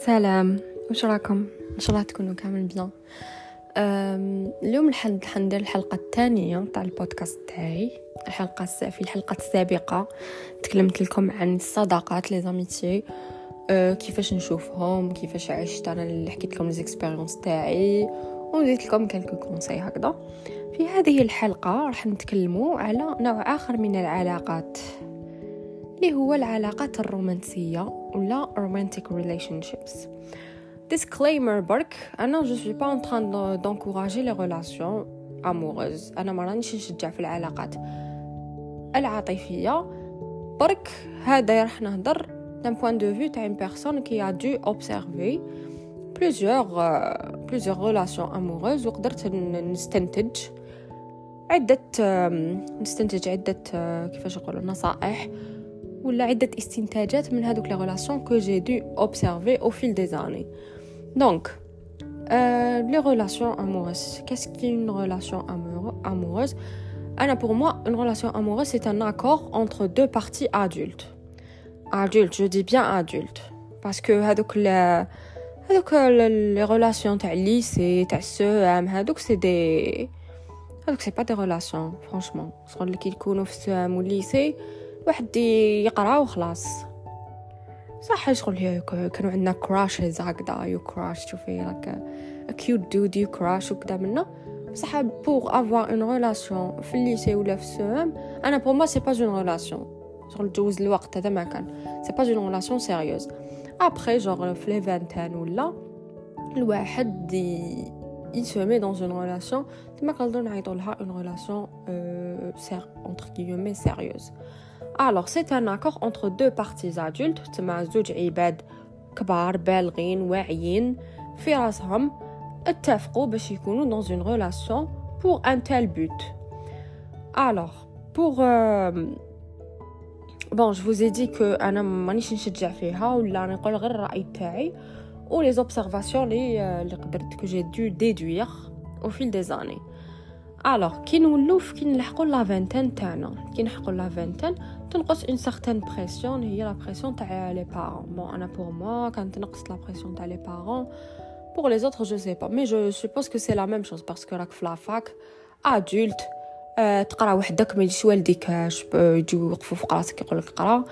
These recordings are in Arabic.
سلام، واش راكم؟ ان شاء الله تكونوا كامل بيان. اليوم ندير الحلقه الثانيه تاع البودكاست تاعي. في الحلقه السابقه تكلمت لكم عن الصداقات لي زاميتي، كيفاش نشوفهم، كيفاش عشت انا، اللي حكيت لكم ليزيكسبيريونس تاعي ونزيد لكم كلكو كونساي هكذا. في هذه الحلقه راح نتكلموا على نوع اخر من العلاقات اللي هو العلاقات الرومانسيه ولا romantic relationships. Disclaimer برك، أنا je suis pas en train d'encourager les relations amoureuses. أنا ما رانيش نشجع في العلاقات العاطفية برك. هذا راح نهضر d'un point de vue تاع une personne qui a dû observer plusieurs relations amoureuses وقدرت نستنتج عدة كيفاش نقولوا نصائح ولا عدة استنتاجات من هذوك les relations que j'ai dû observer au fil des années. Donc, les relations amoureuses. Qu'est-ce qu'une relation amoureuse? Alors, pour moi, une relation amoureuse, c'est un accord entre deux parties adultes. Adultes, je dis bien adultes. Parce que les relations تاع lycée, تاع السوام, c'est pas des relations, franchement. شغل اللي كيكونوا في السوام والليسي واحد يقرا وخلاص. صح شغل كانوا عندنا كراشز هكذا، يو كراش تشوفي لك كيوت دود يو كراش وكذا منا. بصح بور افوار اون ريلاسيون في الليسي ولا في السوام، انا بور ما سي با اون ريلاسيون. شغل تجوز الوقت هذا ما كان سي با اون ريلاسيون سيريوز. ابري جوغ في لي 20 ولا الواحد يسمي dans une relation تما كنقدروا نعيطوا لها une relation entre guillemets sérieuse. Alors, c'est un accord entre deux parties adultes, تما زوج عباد كبار بالغين واعيين في راسهم اتفقوا باش يكونوا dans une relation pour un tel but. Alors, bon, je vous ai dit que أنا مانيش نشجع فيها ولا نقول غير الرأي تاعي ou les observations اللي قدرت que j'ai dû déduire au fil des années. Alors, كي نلحقوا لا فانتين تاعنا، كي نلحقوا لا فانتين تنقص une certaine pression، هي لا pression تاع les parents. Bon, أنا pour moi كانت تنقص لا pression تاع les parents. Pour les autres, je sais pas, mais je suppose que c'est la même chose parce que راك في لا فاك adulte، تقرا وحدك، ما يجيش والديكاش يجيو يوقفوا في راسك يقول لك قرا.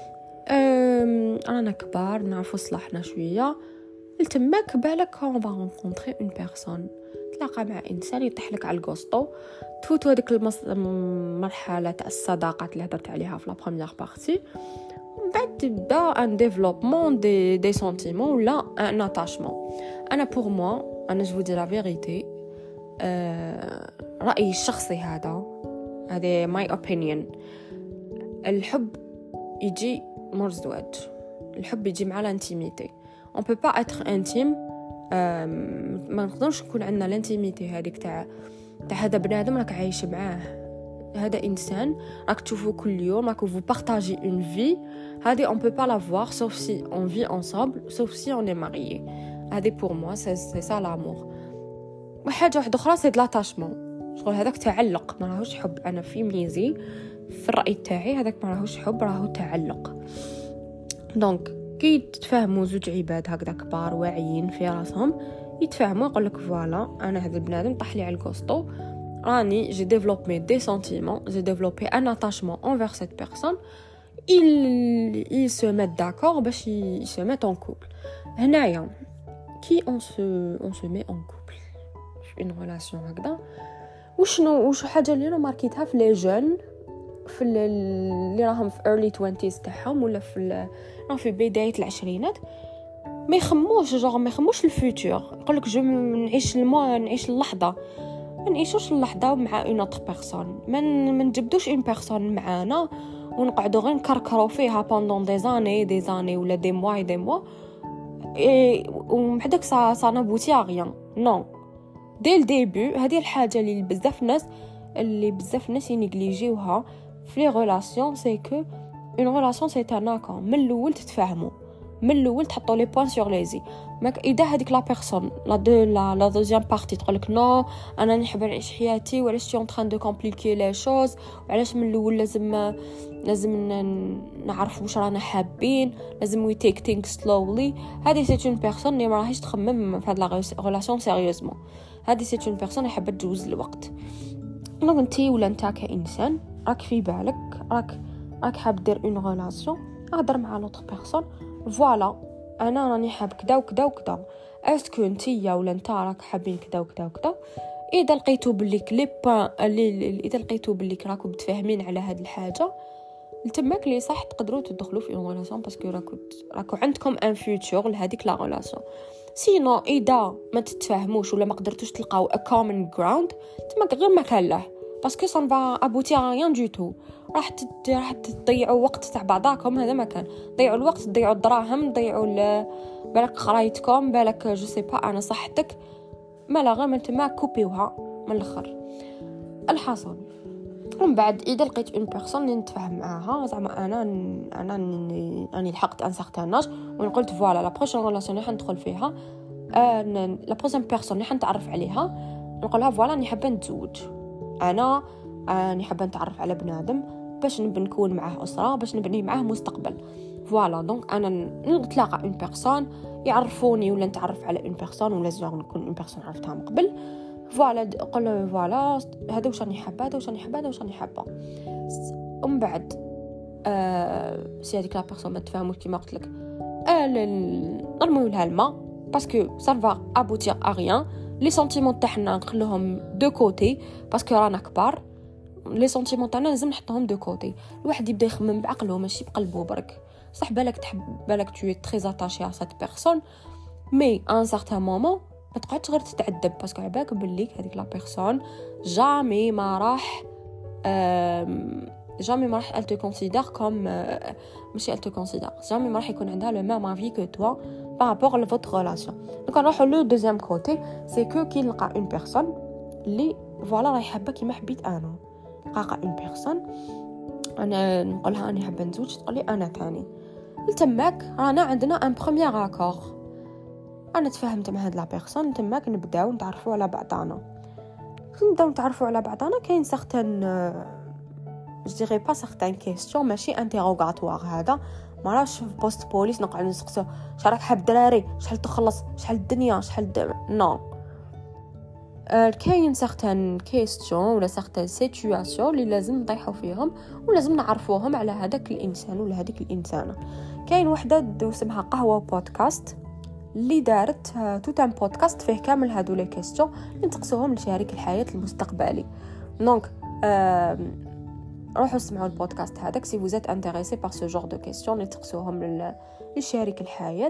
انا كبار نعرفوا صلاحنا شويه، لتماك بالك on va rencontrer une personne، تلاقى مع انسان يطيح لك على الكوستو، تفوتوا هذيك المرحله تاع الصداقات اللي هضرت عليها في لا بروميير بارتي، ومن بعد تبدا ان ديفلوبمون دي سنتيمون ولا ان اتاشمون. انا بور موا، انا جو دي لا فيريتي، رايي الشخصي هذا ماي اوبينيون. الحب يجي مور الزواج، الحب يجي مع الانتيميتي. on peut pas être intime، ما نقدرش نكون عندنا الانتيميتي هذيك تاع هذا بنادم راك عايش معاه، هذا انسان راك تشوفه كل يوم، راك vous partagez une vie. هذه on peut pas la voir sauf si on vit ensemble، sauf si on est marié. هذه pour moi c'est ça l'amour. وحاجه واحده اخرى c'est de l'attachement، شغل هذاك تعلق، ما راهوش حب. انا في ميزي في الراي تاعي هذاك ما راهوش حب، راهو تعلق. دونك كي تتفاهموا زوج عباد هكذا كبار واعيين في راسهم، يتفاهموا يقول لك فوالا انا هذا البنادم طاح لي على الكوستو، راني جي ديفلوبي دي سنتيمون، جي ديفلوبي ان اتاشمون انفير سيت بيرسون، il se met d'accord باش se met en couple. هنايا كي on se met en couple في une relation هكذا، وش حاجه اللي انا ماركيتها في لي جون، في اللي راهم في early 20s تاعهم ولا في بدايه العشرينات، ما يخموش الفيوتور. يقول لك جو نعيش اللحظه، ما نعيشوش اللحظه مع اون اوتر بيرسون، ما نجبدوش اون بيرسون معانا ونقعدوا غير نكركروا فيها pendant des années ولا des mois ومحدك سا نابوتي rien. non dès le début. هذه الحاجه اللي بزاف ناس ينيجليجيوها في لي ريلاسيون، سي كو اون ريلاسيون سي ان اكور. من الاول تتفاهموا من الاول تحطوا لي بوين سور ليزي. ماك اذا هذيك لا بيرسون لا دوزيام بارتي تقول لك نو انا نحب نعيش حياتي وعلاش تي اون تران دو كومبليكي لي شوز وعلاش من الاول لازم نعرف واش رانا حابين لازم وي تيك ثينك سلولي. هذه سي اون بيرسون اللي ما راهيش تخمم في هاد لا ريلاسيون سيريوزمون. هذه سي اون بيرسون اللي حابه تجوز الوقت. دونك انتي ولا نتا كانسان راك في بالك راك حاب دير اون ريلاسيون اهضر مع لوطر بيرسون فوالا انا راني حاب كذا وكذا وكذا اسكو نتيا ولا نتا راك حابين كذا وكذا وكذا. اذا لقيتو بلي لي بوين اذا لقيتو بلي راكم متفاهمين على هاد الحاجه لتماك لي صح تقدروا تدخلوا في اون ريلاسيون باسكو راكو عندكم ان فيوتشر لهذيك لا ريلاسيون. سينو اذا ما تتفاهموش ولا ما قدرتوش تلقاو ا كومن جراوند تماك غير ما كان له باسكو سان فا ابوتي ريان دو تو. راح تضيعوا وقت تاع بعضاكم. هذا ما كان ضيعوا الوقت تضيعوا الدراهم تضيعوا بالك قرايتكم بالك جو سي با انا صحتك ما لا غير من تما كوبيوها من الاخر. الحاصل ومن بعد اذا لقيت اون بيرسون اللي نتفاهم معاها زعما انا راني لحقت ان سارتان اج ونقولت فوالا لا بروشين ريلاسيون اللي حندخل فيها لا بروشين بيرسون اللي حنتعرف عليها نقولها فوالا راني حابه نتزوج انا راني حابه نتعرف على بنادم باش نكون معاه اسره باش نبني معاه مستقبل. فوالا دونك انا نتلاقى اون بيرسون يعرفوني ولا نتعرف على اون بيرسون ولا زعما نكون اون بيرسون عرفتها من قبل فوالا قول فوالا هذا واش راني حابه هذا واش راني حابه هذا واش راني حابه. ومن بعد سي هذيك لا بيرسون ما تفهموش كيما قلت لك نرميو لها الماء باسكو سا فا ابوتير ا ريان. لي سنتيمون تاعنا نخلوهم دو كوتي باسكو رانا كبار. لي سنتيمون تاعنا لازم نحطهم دو كوتي. الواحد يبدا يخمم بعقله ماشي بقلبه برك. صح بالك تحب بالك تو تري اتاشي ا سات بيرسون مي ان سارتان مومون ما تقعدش غير تتعذب باسكو عباك بليك هذيك لا بيرسون جامي ما راح elle te considère comme ماشي elle te considère جامي ما راح يكون عندها le même avis que toi par rapport à votre relation. donc نروحوا لو دوزيام كوتي سي كو كي نلقى اون بيرسون اللي فوالا راهي حابه كيما حبيت انا. نلقى اون بيرسون انا نقولها اني حابه نزوج تقولي انا ثاني تماك رانا عندنا ان بروميير اكور. انا تفاهمت مع هاد لا بيرسون تماك نبداو نتعرفوا على بعضنا كاين سارتان je dirais pas certaines questions ماشي انتيروغاتوار. هذا ما راش في بوست بوليس نقعد نسقسو واش راك حاب دراري شحال تخلص شحال الدنيا شحال نو. كاين سارتان كيستيون ولا سارتان سيتوياسيون اللي لازم نطيحوا فيهم ولازم نعرفوهم على هذاك الانسان ولا هذيك الانسانه. كاين وحده اسمها قهوه بودكاست اللي دارت توت ان بودكاست فيه كامل هادو لي كيستيون اللي نسقسوهم لشريك الحياه المستقبلي. دونك روحوا اسمعوا البودكاست هذاك سي فوزيت انتريسي بار سو جور دو كيستيون اللي تسقسوهم لشريك الحياه.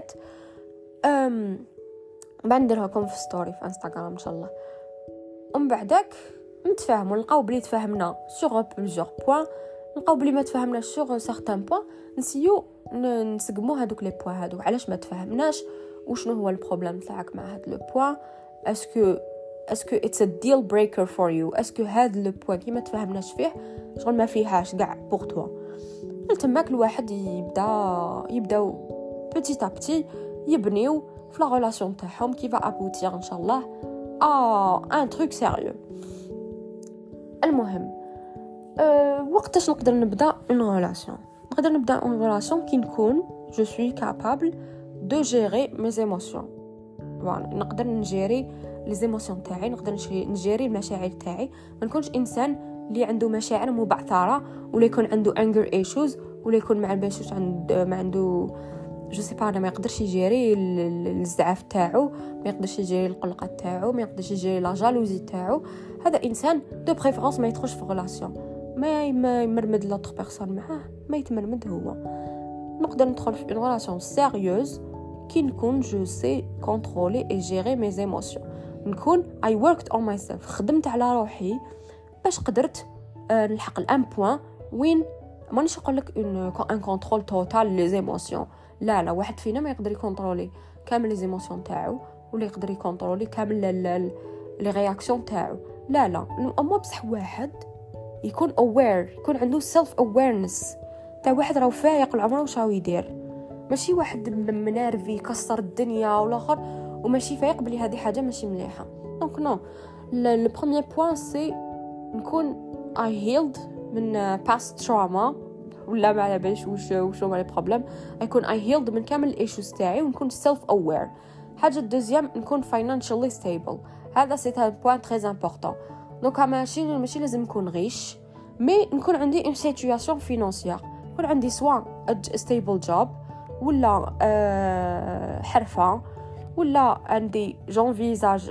بنديرها لكم في ستوري في انستغرام ان شاء الله. ومن بعدك نتفاهموا نلقاو بلي تفاهمنا سوغ بليزيور بوين نلقاو بلي ما تفاهمناش سوغ سارتان بوين نسيو نسقموا هذوك لي بوين هذو علاش ما تفاهمناش وشنو هو البروبليم تاعك مع هاد لو بوين. اسكو اتس ا ديل بريكر فور يو اسكو هاد لو بوين كيما تفاهمناش فيه شغل ما فيهاش كاع بوغ توا. تماك الواحد يبداو بيتي ا بيتي يبنيو في لا ريلاسيون تاعهم كي فا ابوتير ان شاء الله ان تروك سيريو. المهم وقتاش نقدر نبدا اون ريلاسيون؟ نقدر نبدا اون ريلاسيون كي نكون جو سوي كابابل دو جيري مي ايموشن. فوالا نقدر نجيري لي ايموشن تاعي نقدر نجيري المشاعر تاعي. ما نكونش انسان اللي عنده مشاعر مبعثره ولا يكون عنده انجر ايشوز ولا يكون مع الباشوش ما عنده جو سي با ما يقدرش يجيري الزعاف تاعو ما يقدرش يجيري القلقه تاعو ما يقدرش يجيري لا جالوزي تاعو. هذا انسان دو بريفيرونس ما يدخلش في ريلاسيون ما يمرمد لوطر بيرسون معاه ما يتمرمد هو. نقدر ندخل في اون ريلاسيون سيريوز كي نكون جو سي كونترولي اي جيري مي ايموشن. نكون اي وركت اون ماي سيلف خدمت على روحي باش قدرت نلحق الان بوين وين مانيش نقول لك ان كونترول توتال لي ايموشن. لا واحد فينا ما يقدر يكونترولي كامل لي ايموشن تاعو ولا يقدر يكونترولي كامل لي رياكسيون تاعو. لا اما بصح واحد يكون اوير يكون عنده سيلف اويرنس تاع واحد راه فايق العمر واش راهو يدير. ماشي واحد منارفي يكسر الدنيا والاخر وماشي فايق بلي هذه حاجه ماشي مليحه. دونك نو لو بروميير بوين سي نكون I healed من past trauma ولا ما على باليش واش هما لي بروبليم. يكون I healed من كامل الايشوز تاعي ونكون self aware. حاجه الدوزيام نكون financially stable. هذا سي ان بوين تري امبورطون. دونك ماشي لازم نكون غيش مي نكون عندي une situation financière. يكون عندي سواء stable job ولا حرفه ولا عندي j'envisage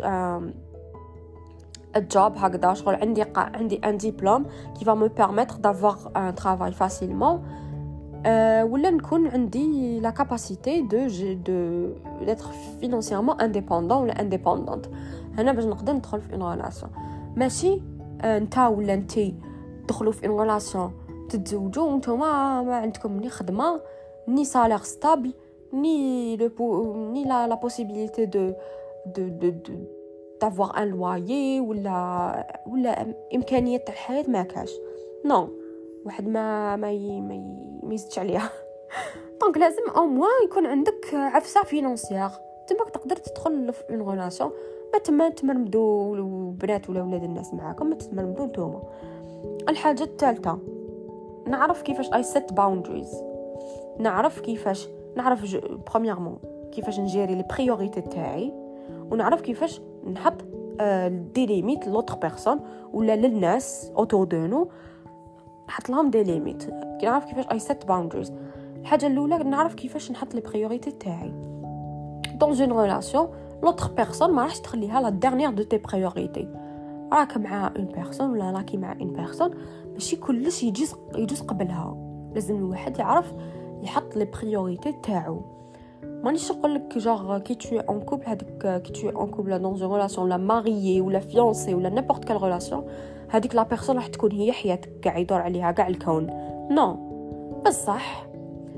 الجوب هكذا شغل عندي un diplôme qui va me permettre d'avoir un travail facilement ولا نكون عندي la capacité de d'être financièrement indépendant ولا indépendante. هنا باش نقدر ندخل في une relation. ماشي نتا ولا انتي تدخلوا في une relation تتزوجوا وانتم ما عندكم ني خدمه ني salaire stable ni la possibilité de d'avoir un loyer ولا امكانيه تاع الحياه ما كاش. نو واحد ما يزيدش عليها. دونك لازم او موان يكون عندك عفسه فينانسيير تماك تقدر تدخل في اون ريلاسيون. ما تمرمدوا البنات ولا ولاد الناس معاكم، ما تتمرمدوا نتوما. الحاجه الثالثه نعرف كيفاش I set boundaries. نعرف برومييرمون كيفاش نجيري لي بريوريتي تاعي ونعرف كيفاش نحط دي ليميت لوتر بيرسون ولا للناس اوتور دو نو نحط لهم دي ليميت. نعرف كيفاش اي سيت باوندريز. الحاجه الاولى نعرف كيفاش نحط لي بريوريتي تاعي دون اون ريلاسيون. لوتر بيرسون ما راحش تخليها لا ديرنيير دو تي بريوريتي. راك مع اون بيرسون ولا راكي مع اون بيرسون ماشي كلش يجوز قبلها. لازم الواحد يعرف يحط لي بريوريتي تاعو. مانيش نقول لك جوغ كي tu es en couple هذيك كي tu es en couple dans une relation لا ماريي ولا فيونسي ولا نيبورت كال ريلاسيون هذيك لا بيرسون راح تكون هي حياتك كاع يدور عليها كاع الكون. نو بصح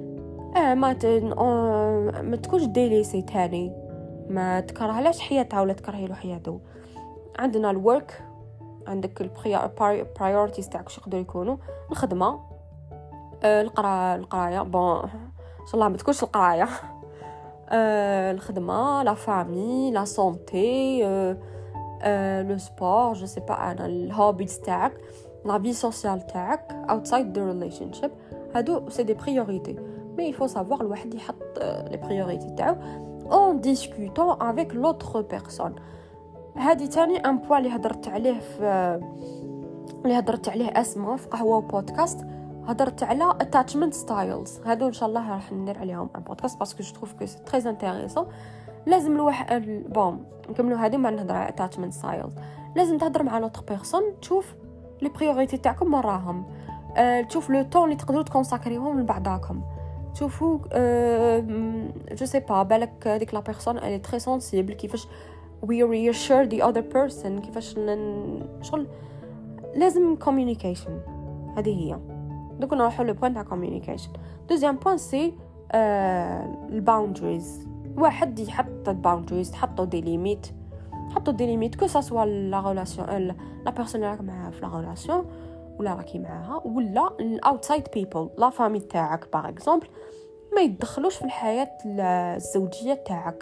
ما تكونش ديليسي تاني ما تكرهلاش حياتها ولا تكرهي له حياته. عندنا الورك عندك البرايورتيز تاعك واش يقدروا يكونوا الخدمه القرايه بون ان شاء الله ما تكونش القرايه الخدمه لا فامي لا سونتي لو سبور جو سي با انا الهوبيز تاعك لا في سوسيال تاعك اوتسايد ذا ريليشن شيب. هادو سي دي بريوريتي مي il faut savoir الواحد يحط لي بريوريتي تاعو en discutant avec l'autre personne. هذه تاني ان بوين اللي هضرت عليه اسماء في قهوه بودكاست. هضرت على attachment styles. هادو ان شاء الله راح ندير عليهم ان بودكاست باسكو جو تروف كو سي تري انتريسون. لازم الواحد بون نكملوا هذه ما نهضر على attachment styles. لازم تهضر مع لوتر بيرسون تشوف لي بريوريتي تاعكم وراهم. تشوف لو طون اللي تقدروا تكونساكريوهم لبعضاكم. تشوفوا جو سي با بالك هذيك لا بيرسون الي تري سنسيبل كيفاش we reassure the other person كيفاش شغل لازم communication. هذه هي. دوك نروحوا لو بوين تاع communication. دوزيام بوين سي الباوندريز. واحد يحط الباوندريز تحطوا دي ليميت كو سا سوا لا ريلاسيون لا بيرسون اللي راك معاها في لا ريلاسيون ولا راكي معاها ولا الاوتسايد بيبل لا فامي تاعك باغ اكزومبل ما يتدخلوش في الحياه الزوجيه تاعك.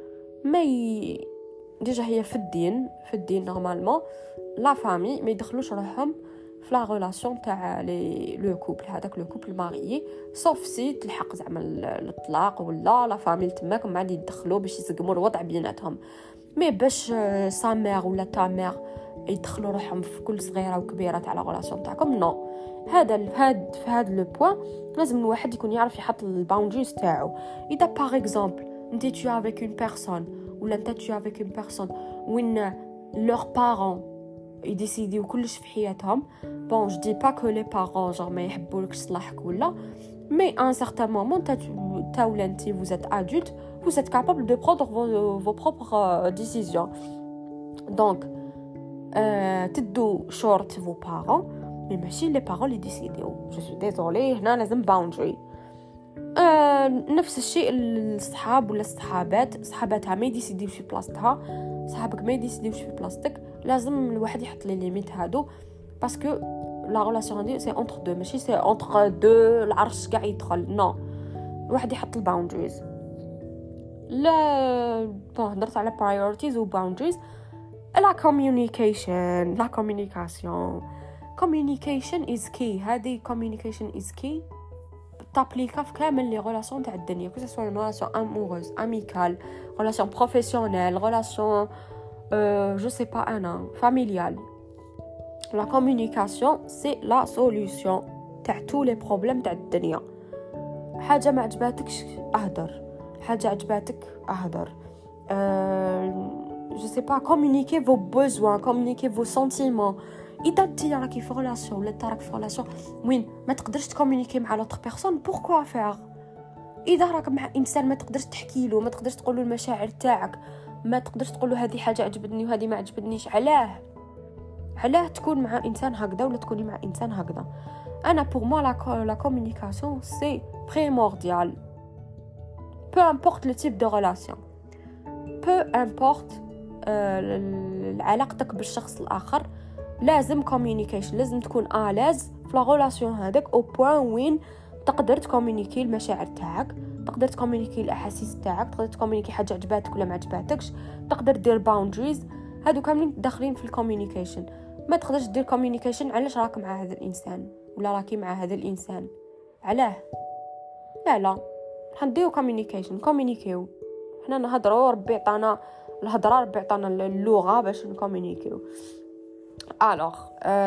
ديجا هي في الدين نورمالمون لا فامي ما يدخلوش روحهم في لا ريلاسيون تاع لو كوبل هذاك لو كوبل ماريي صوف سي تلحق زعما الطلاق ولا لا فامي تماك ما عاد يدخلوا باش يسقموا الوضع بيناتهم. مي باش سا مير ولا تا مير يدخلوا روحهم في كل صغيره وكبيره تاع لا ريلاسيون تاعكم. نو في هذا لو بوين لازم الواحد يكون يعرف يحط الباوندريز تاعو. اذا باغ اكزومبل انت tu avec une personne ولا انت tu avec une personne وين leurs parents يديسيديو كلش في حياتهم بون جو دي با كو لي بارون جور ما يحبولكش صلاحك ولا مي ان سارتان مومون تا ولا انت vous êtes adulte vous êtes capable de prendre vos propres décisions. donc تدو شورت فو بارون مي ماشي لي بارون اللي ديسيديو. جو سو ديزولي هنا لازم باوندري. نفس الشيء الصحاب ولا الصحابات صحاباتها ما يديسيديوش في بلاصتها صحابك ما يديسيديوش في بلاصتك. لازم الواحد يحط لي ليميت هادو باسكو لا ريلاسيون دي سي اونتر دو ماشي سي اونتر دو العرش كاع يدخل. نو الواحد يحط الباوندريز. لا هضرت على priorities و boundaries. la communication is key. هذه communication is key تابليكا في كامل لي غولاسيون تاع الدنيا، كو سوا غولاسيون اموروز، اميكال، غولاسيون بروفيسيونيل، غولاسيون جو سي با انا فاميليال. لا كومونيكاسيون سي لا سوليوشن تاع تو لي بروبليم تاع الدنيا. حاجه ما عجباتكش اهدر، حاجه عجباتك اهدر. جو سي با كومونيكي فو بوزوان، كومونيكي فو سنتيمون. اذا انت راكي في ريلاسيون ولا انت راك في ريلاسيون وين ما تقدرش تكومونيكي مع لوطر بيرسون، بوركوا فير؟ اذا راك مع انسان ما تقدرش تحكي له، ما تقدرش تقول له المشاعر تاعك، ما تقدرش تقول له هذه حاجه عجبتني وهذه ما عجبتنيش، علاه تكون مع انسان هكذا ولا تكوني مع انسان هكذا؟ انا بور موا لا كومونيكاسيون سي بريمورديال. peu importe le type de relation, peu importe علاقتك بالشخص الاخر، لازم communication، لازم تكون آلاز في لا غولاسيون هذاك او بوين وين تقدر تكومونيكي المشاعر تاعك، تقدر تكومونيكي الاحاسيس تاعك، تقدر تكومونيكي حاجه عجباتك ولا ما عجباتكش، تقدر دير باوندريز. هادو كاملين داخلين في الكوميونيكيشن. ما تقدرش دير كوميونيكيشن علاش راك مع هذا الانسان ولا راكي مع هذا الانسان، علاه؟ لا حنديو كوميونيكيشن، كوميونيكيو. حنا نهضروا، ربي عطانا الهضره، ربي عطانا اللغه باش نكوميونيكيو. Alors,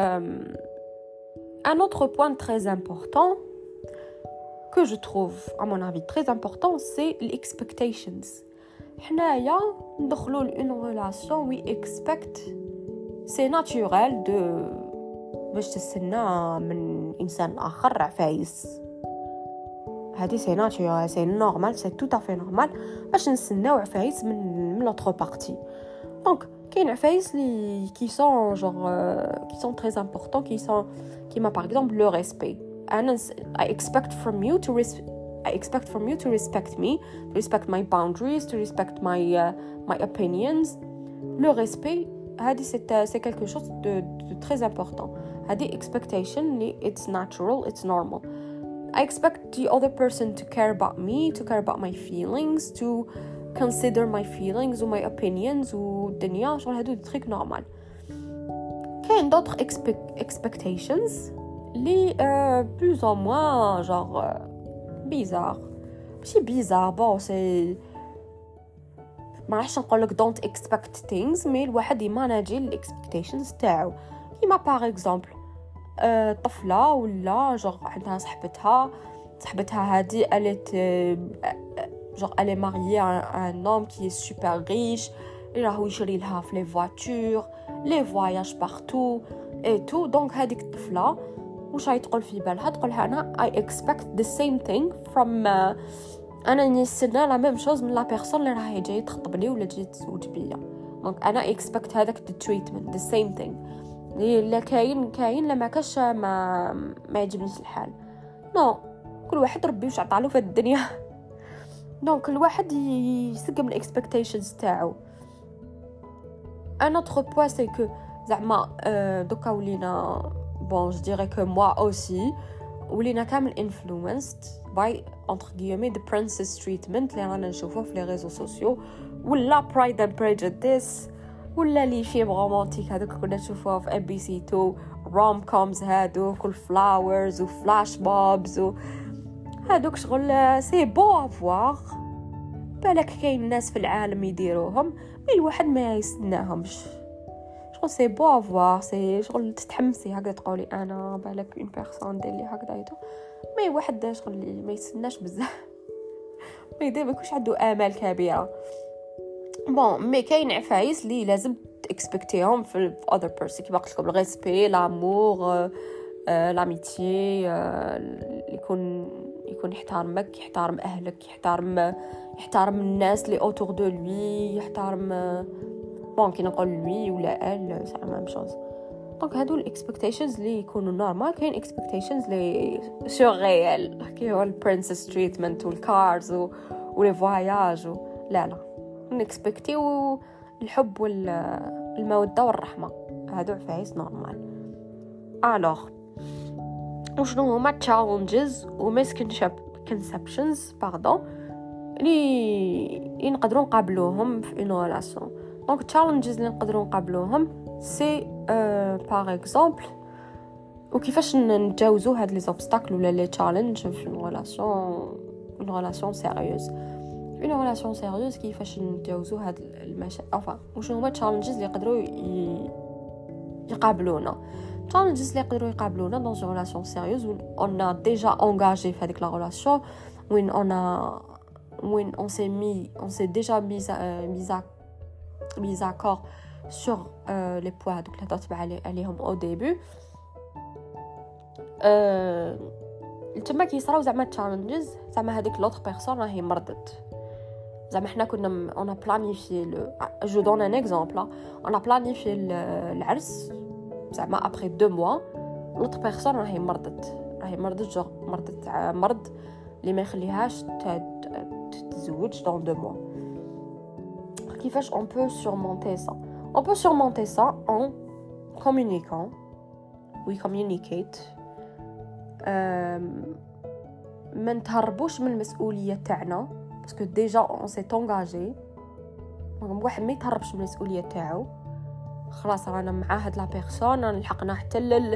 un autre point très important que je trouve, à mon avis, très important, c'est les expectations. حنايا ندخلوا لune relation, we expect, c'est naturel de باش تستنى من انسان اخر عفايس. هذه سي ناتورال، سي نورمال، سي tout à fait normal باش نستناو عفايس من l'autre partie. Donc كاين عفايس لي qui sont très importants, qui m'a par exemple le respect. I expect from you to respect me, to respect my boundaries, to respect my opinions. Le respect, c'est quelque chose de très important. هذه expectation li it's natural, it's normal. I expect the other person to care about me, to care about my feelings, to consider my feelings or my opinions والدنيا شغل هادو تريك نورمال. كاين d'autres expectations لي plus ou moins genre bizarre. ماشي bizarre, bon c'est ما راحش نقول لك don't expect things, مي الواحد يماناجي الاكسبكتيشنز تاعو. كيما باغ اكزامبل طفله ولا جوغ عندها صاحبتها هذه قالت genre elle est mariée à un homme qui est super riche, il راهو يشري لها في les voitures, les voyages partout et tout. donc هذيك الطفله واش راهي تقول في بالها؟ تقولها انا I expect the same thing from انا نستنى لا ميم شوز من لا بيرسون اللي راهي جايه تخطب لي ولا جايه تزوج بيا. دونك انا expect هذاك the treatment the same thing. لا كاين لا ما كاش ما يعجبنيش الحال. نو كل واحد ربي واش عطالو في الدنيا. دونك الواحد يسقم الاكسبكتيشنز تاعو. ان اوتر بوين سي كو زعما دوكا ولينا بون جو ديري كو موا اوسي ولينا كامل influenced by entre guillemets the princess treatment اللي رانا نشوفوه في لي ريزو سوسيو ولا pride and prejudice ولا لي فيلم رومانتيك هذوك كنا نشوفوه في MBC2 روم كومز هذوك والفلاورز وفلاش بوبز هذوك شغل سي بو افوار. بالك كاين ناس في العالم يديروهم مي الواحد ما يستناهمش. شغل سي بو افوار، سي شغل تتحمسي هكذا تقولي انا بالك اون بيرسون دير لي هكذا ايتو. مي واحد شغل ما يستناش بزاف، ما يدير ما يكونش عنده امال كبيره. بون مي كاين عفايس اللي لازم تاكسبكتيهم في other person كيما قلت لكم الريسبي، لامور، لاميتي، يكون يحترمك، يحترم اهلك، يحترم الناس اللي اوتور دو لوي، يحترم بون كي نقول لوي ولا ال سا ميم شوز. دونك هادو الاكسبكتيشنز اللي يكونوا نورمال. كاين اكسبكتيشنز اللي سورغيال كي هو البرنسس تريتمنت والكارز ولي فواياج لا نكسبكتيو الحب والموده والرحمه. هادو عفايس نورمال. الوغ وشنو هما تشالنجز ومسكنشيب misconceptions اللي نقدروا نقابلوهم في une relation. Donc challenges اللي نقدروا نقابلوهم c'est par exemple وكيفاش نتجاوزوا هاد لي obstacles ولا لي challenge في une relation sérieuse. في une relation sérieuse كيفاش نتجاوزوا هاد المشاكل وشنو هما challenges اللي يقدروا يقابلونا. challenges اللي يقدروا يقابلونا dans une relation sérieuse où on a déjà engagé في هذيك la relation, où on s'est déjà mis d'accord sur les points donc اللي هضرت عليهم au début. تما كيصراو زعما challenges زعما هذيك l'autre personne راهي مرضت. زعما حنا كنا on a planifié je donne un exemple, on a planifié العرس زعما après 2 mois l'autre personne راهي مرضت مرض اللي ما يخليهاش تتزوج dans 2 mois. كيفاش on peut surmonter ça? On peut surmonter ça en communiquant. We communicate. ما نتهربوش من المسؤولية تاعنا parce que déjà on s'est engagé. واحد ما يتهربش من المسؤولية تاعو. خلاص رانا مع هاد لا بيرسون لحقنا حتى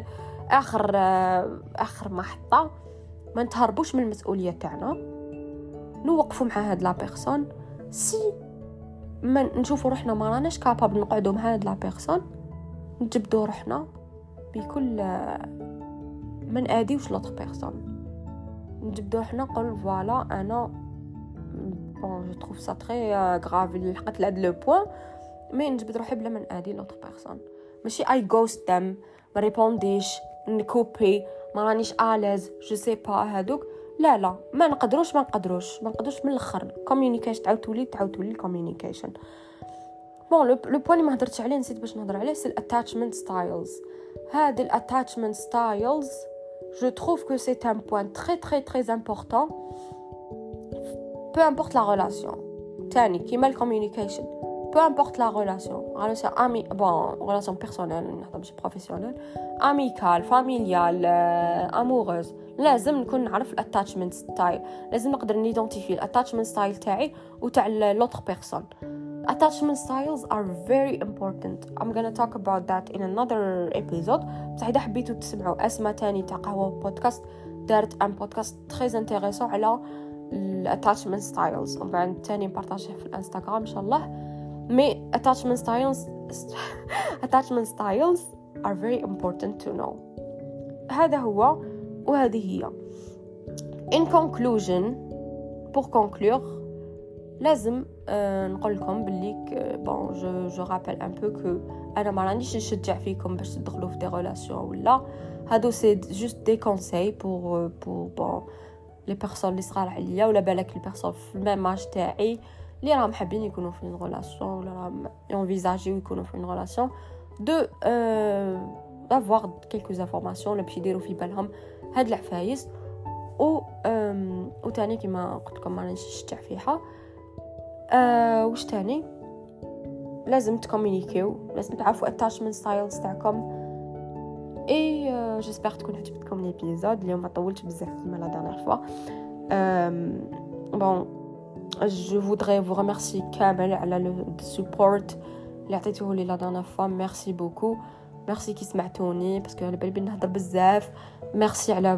اخر محطة. ما نتهربوش من المسؤولية تاعنا. نوقفوا مع هاد لا بيرسون سي ما نشوفوا روحنا ما راناش كابابل نقعدوا مع هاد لا بيرسون نجبدوا روحنا بكل ما ناديوش لوطر بيرسون نجبدوا روحنا نقول فوالا انا بون جو تروف سا تري غراف اللي لحقت لهاد لو بوين مي نجبد روحي بلا ما نادي لوطر بيرسون ماشي اي غوست دم ما ريبونديش نكوبي ما رانيش اليز جو سي با هادوك لا ما نقدروش من الاخر كوميونيكيشن تعاود تولي الكوميونيكيشن. بون لو بوين اللي ما هضرتش عليه نسيت باش نهضر عليه سي الاتاتشمنت ستايلز. هاد الاتاتشمنت ستايلز جو تروف كو سي ان بوين تري تري تري امبورطون peu importe la relation. تاني كيما الكوميونيكيشن peu importe la relation ami bon relation personnelle نهضر ماشي بروفيسيونيل اميكال فاميليال اموغوز لازم نكون نعرف الاتاتشمنت ستايل لازم نقدر نيدونتيفي الاتاتشمنت ستايل تاعي وتاع لوطر بيرسون. Attachment styles are very important. I'm gonna talk about that in another episode. بصح إذا حبيتوا تسمعوا أسماء تاني تاع قهوة بودكاست دارت ان بودكاست très intéressant على attachment styles ومن بعد تاني نبارطاجيه في الانستغرام إن شاء الله. مي attachment styles are very important to know. هذا هو وهذه هي. In conclusion, pour conclure, لازم نقول لكم باللي bon je rappelle un peu que انا ما رانيش نشجع فيكم باش تدخلوا في دي ريلاسيون ولا هادو سي جوست دي كونساي pour bon les personnes اللي صغار عليا ولا بالك les personnes في الميم اج تاعي اللي راهم حابين يكونوا في une relation ولا راهم ينفيزاجيو يكونوا في une relation de d'avoir quelques informations ولا باش يديروا في بالهم هاد العفايس و تاني كما قلت لكم ما رانيش نشجع فيها. وش تاني لازم تكومونيكيو لازم تعرفوا attachment styles تاعكم. اي جيسبر تكون عجبتكم الابيزود اليوم ما طولتش بزاف كيما لا دانيير فوا. bon je voudrais vous remercier كامل على le support اللي عطيتوه لي لا دانيير فوا. ميرسي بوكو ميرسي كي سمعتوني باسكو على بالي نهضر بزاف. ميرسي على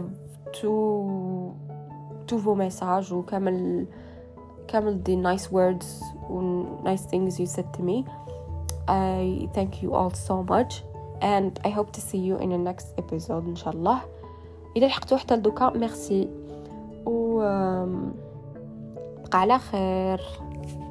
تو فو ميساج وكامل the nice words and nice things you said to me. I thank you all so much and I hope to see you in the next episode إن شاء الله. إذا لحقتوا حتى لدوكا ميرسي و بقى على خير.